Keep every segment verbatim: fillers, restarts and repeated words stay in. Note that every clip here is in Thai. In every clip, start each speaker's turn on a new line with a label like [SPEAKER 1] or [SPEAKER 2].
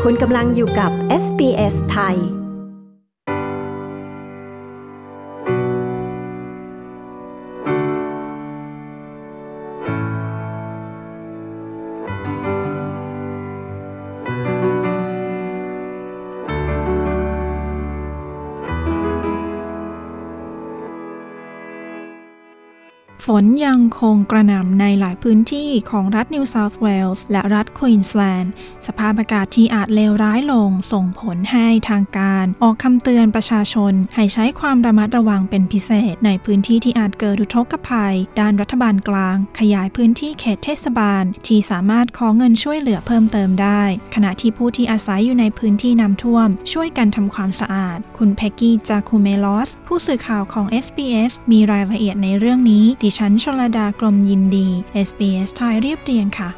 [SPEAKER 1] คุณกำลังอยู่กับ เอส บี เอส ไทย
[SPEAKER 2] ฝนยังคงกระหน่ำในหลายพื้นที่ของรัฐนิวเซาท์เวลส์และรัฐควีนสแลนด์สภาพอากาศที่อาจเลวร้ายลงส่งผลให้ทางการออกคำเตือนประชาชนให้ใช้ความระมัดระวังเป็นพิเศษในพื้นที่ที่อาจเกิดอุทกภัยด้านรัฐบาลกลางขยายพื้นที่เขตเทศบาลที่สามารถขอเงินช่วยเหลือเพิ่มเติมได้ขณะที่ผู้ที่อาศัยอยู่ในพื้นที่น้ำท่วมช่วยกันทำความสะอาดคุณเพ็กกี้จาคูเมลอสผู้สื่อข่าวของ เอส บี เอส มีรายละเอียดในเรื่องนี้ดิฉันชลดากรมยินดี เอส บี เอส ไทยเรียบเรียงค่ะ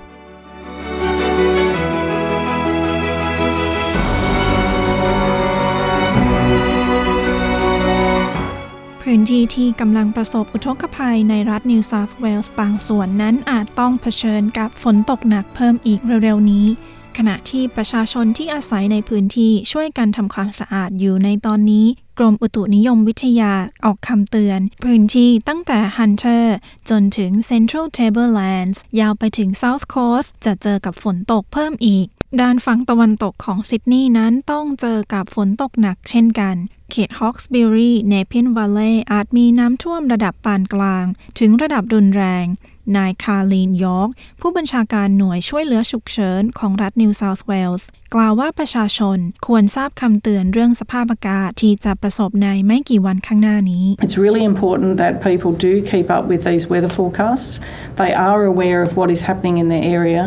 [SPEAKER 2] พื้นที่ที่กำลังประสบอุทกภัยในรัฐนิวเซาท์เวลส์บางส่วนนั้นอาจต้องเผชิญกับฝนตกหนักเพิ่มอีกเร็วๆนี้ขณะที่ประชาชนที่อาศัยในพื้นที่ช่วยกันทำความสะอาดอยู่ในตอนนี้กรมอุตุนิยมวิทยาออกคำเตือนพื้นที่ตั้งแต่ Hunter จนถึง Central Tablelands ยาวไปถึง South Coast จะเจอกับฝนตกเพิ่มอีกด้านฝั่งตะวันตกของซิดนีย์นั้นต้องเจอกับฝนตกหนักเช่นกันเขต Hawkesbury Nepean Valley อาจมีน้ำท่วมระดับปานกลางถึงระดับรุนแรงนายคาร์ลีนยอร์กผู้บัญชาการหน่วยช่วยเหลือฉุกเฉินของรัฐนิวเซาท์เวลส์กล่าวว่าประชาชนควรทราบคำเตือนเรื่องสภาพอากาศที่จะประสบในไม่กี่วันข้างหน้านี้
[SPEAKER 3] It's really important that people do keep up with these weather forecasts. They are aware of what is happening in their area.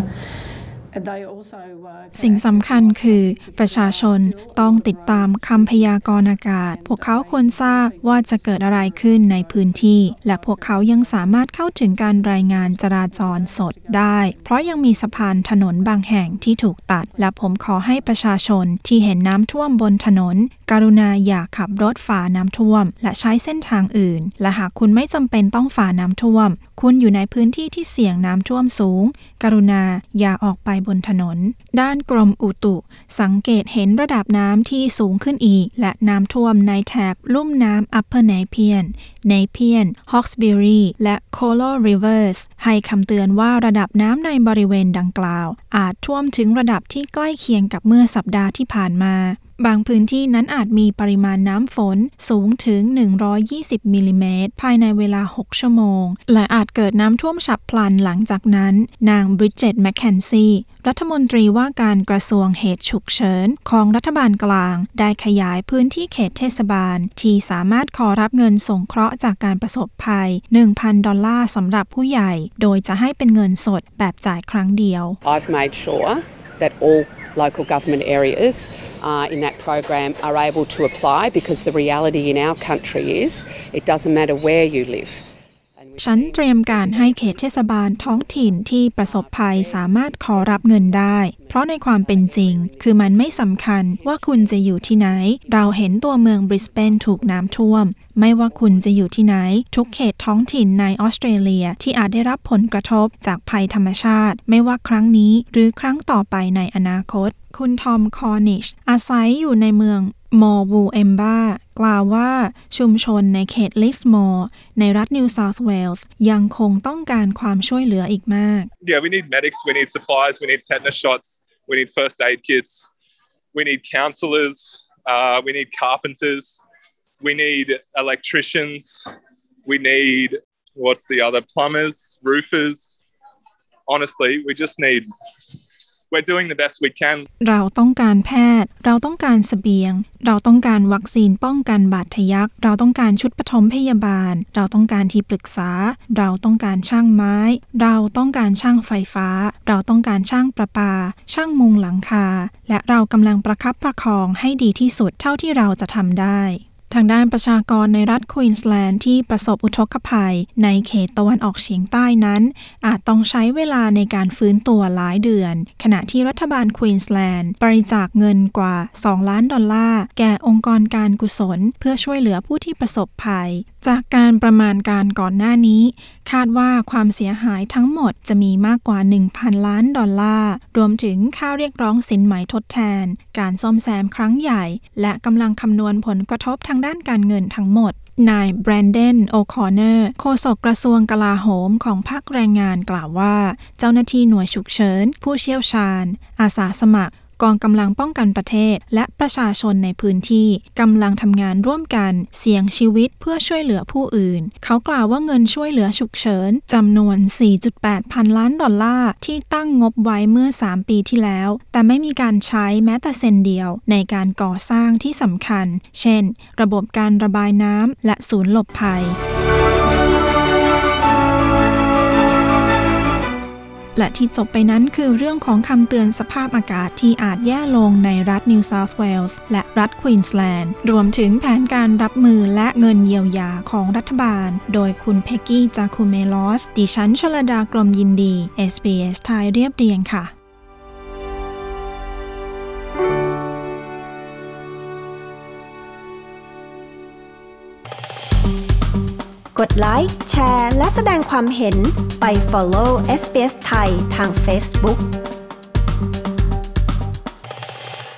[SPEAKER 2] สิ่งสำคัญคือประชาชนต้องติดตามคำพยากรณ์อากาศพวกเขาควรทราบว่าจะเกิดอะไรขึ้นในพื้นที่และพวกเขายังสามารถเข้าถึงการรายงานจราจรสดได้เพราะยังมีสะพานถนนบางแห่งที่ถูกตัดและผมขอให้ประชาชนที่เห็นน้ำท่วมบนถนนกรุณาอย่าขับรถฝ่าน้ำท่วมและใช้เส้นทางอื่นและหากคุณไม่จำเป็นต้องฝ่าน้ำท่วมคุณอยู่ในพื้นที่ที่เสี่ยงน้ำท่วมสูงกรุณาอย่าออกไปบนถนนด้านกรมอุตุสังเกตเห็นระดับน้ำที่สูงขึ้นอีกและน้ำท่วมในแถบลุ่มน้ำ Upper Nepean Nepean Hawkesbury และ Colo Rivers ให้คำเตือนว่าระดับน้ำในบริเวณดังกล่าวอาจท่วมถึงระดับที่ใกล้เคียงกับเมื่อสัปดาห์ที่ผ่านมาบางพื้นที่นั้นอาจมีปริมาณน้ำฝนสูงถึงหนึ่งร้อยยี่สิบมิลลิเมตรภายในเวลาหกชั่วโมงและอาจเกิดน้ำท่วมฉับพลันหลังจากนั้นนางบริดเจตแมคเคนซีรัฐมนตรีว่าการกระทรวงเหตุฉุกเฉินของรัฐบาลกลางได้ขยายพื้นที่เขตเทศบาลที่สามารถขอรับเงินสงเคราะห์จากการประสบภัย หนึ่งพัน ดอลลาร์สำหรับผู้ใหญ่โดยจะให้เป็นเงินสดแบบจ่ายครั้งเดียว
[SPEAKER 4] I've made sure that all local government areas uh, in that program are able to apply because the reality in our country is it doesn't matter where you live.
[SPEAKER 2] ฉันเตรียมการให้เขตเทศบาลท้องถิ่นที่ประสบภัยสามารถขอรับเงินได้เพราะในความเป็นจริงคือมันไม่สำคัญว่าคุณจะอยู่ที่ไหนเราเห็นตัวเมืองบริสเบนถูกน้ำท่วมไม่ว่าคุณจะอยู่ที่ไหนทุกเขตท้องถิ่นในออสเตรเลียที่อาจได้รับผลกระทบจากภัยธรรมชาติไม่ว่าครั้งนี้หรือครั้งต่อไปในอนาคตคุณทอมคอร์นิชอาศัยอยู่ในเมืองมอร์วูเอมบากล่าวว่าชุมชนในเขตลิสมอร์ในรัฐนิวเซาท์เวลส์ยังคงต้องการความช่วยเหลืออีกมาก
[SPEAKER 5] Yeah, we need medics, we need supplies, we need tetanus shots, we need first aid kits, we need counsellors, uh, we need carpenters, we need electricians, we need, what's the other, plumbers, roofers. Honestly, we just need...We're doing the best we can.
[SPEAKER 2] เราต้องการแพทย์เราต้องการเสบียงเราต้องการวัคซีนป้องกันบาดทะยักเราต้องการชุดปฐมพยาบาลเราต้องการที่ปรึกษาเราต้องการช่างไม้เราต้องการช่างไฟฟ้าเราต้องการช่างประปาช่างมุงหลังคาและเรากำลังประคับประคองให้ดีที่สุดเท่าที่เราจะทำได้ทางด้านประชากรในรัฐควีนสแลนด์ที่ประสบอุทกภัยในเขตตะวันออกเฉียงใต้นั้นอาจต้องใช้เวลาในการฟื้นตัวหลายเดือนขณะที่รัฐบาลควีนสแลนด์บริจาคเงินกว่าสองล้านดอลลาร์แก่องค์กรการกุศลเพื่อช่วยเหลือผู้ที่ประสบภัยจากการประมาณการก่อนหน้านี้คาดว่าความเสียหายทั้งหมดจะมีมากกว่า หนึ่งพัน ล้านดอลลาร์รวมถึงค่าเรียกร้องสินไหมทดแทนการซ่อมแซมครั้งใหญ่และกำลังคำนวณผลกระทบทางด้านการเงินทั้งหมดนายแบรนเดน โอคอนเนอร์โฆษกกระทรวงกลาโหมของพรรคแรงงานกล่าวว่าเจ้าหน้าที่หน่วยฉุกเฉินผู้เชี่ยวชาญอาสาสมัครกองกำลังป้องกันประเทศและประชาชนในพื้นที่กำลังทำงานร่วมกันเสี่ยงชีวิตเพื่อช่วยเหลือผู้อื่นเขากล่าวว่าเงินช่วยเหลือฉุกเฉินจำนวน สี่จุดแปด พันล้านดอลลาร์ที่ตั้งงบไว้เมื่อสามปีที่แล้วแต่ไม่มีการใช้แม้แต่เซนเดียวในการก่อสร้างที่สำคัญเช่นระบบการระบายน้ำและศูนย์หลบภัยและที่จบไปนั้นคือเรื่องของคำเตือนสภาพอากาศที่อาจแย่ลงในรัฐนิวเซาท์เวลส์และรัฐควีนสแลนด์รวมถึงแผนการรับมือและเงินเยียวยาของรัฐบาลโดยคุณเพ็กกี้จาคูเมลอสดิฉันชลดากรมยินดี เอส บี เอส ไทยเรียบเรียงค่ะ
[SPEAKER 1] กดไลค์แชร์และแสดงความเห็นไป follow เอส บี เอส ไทยทาง Facebook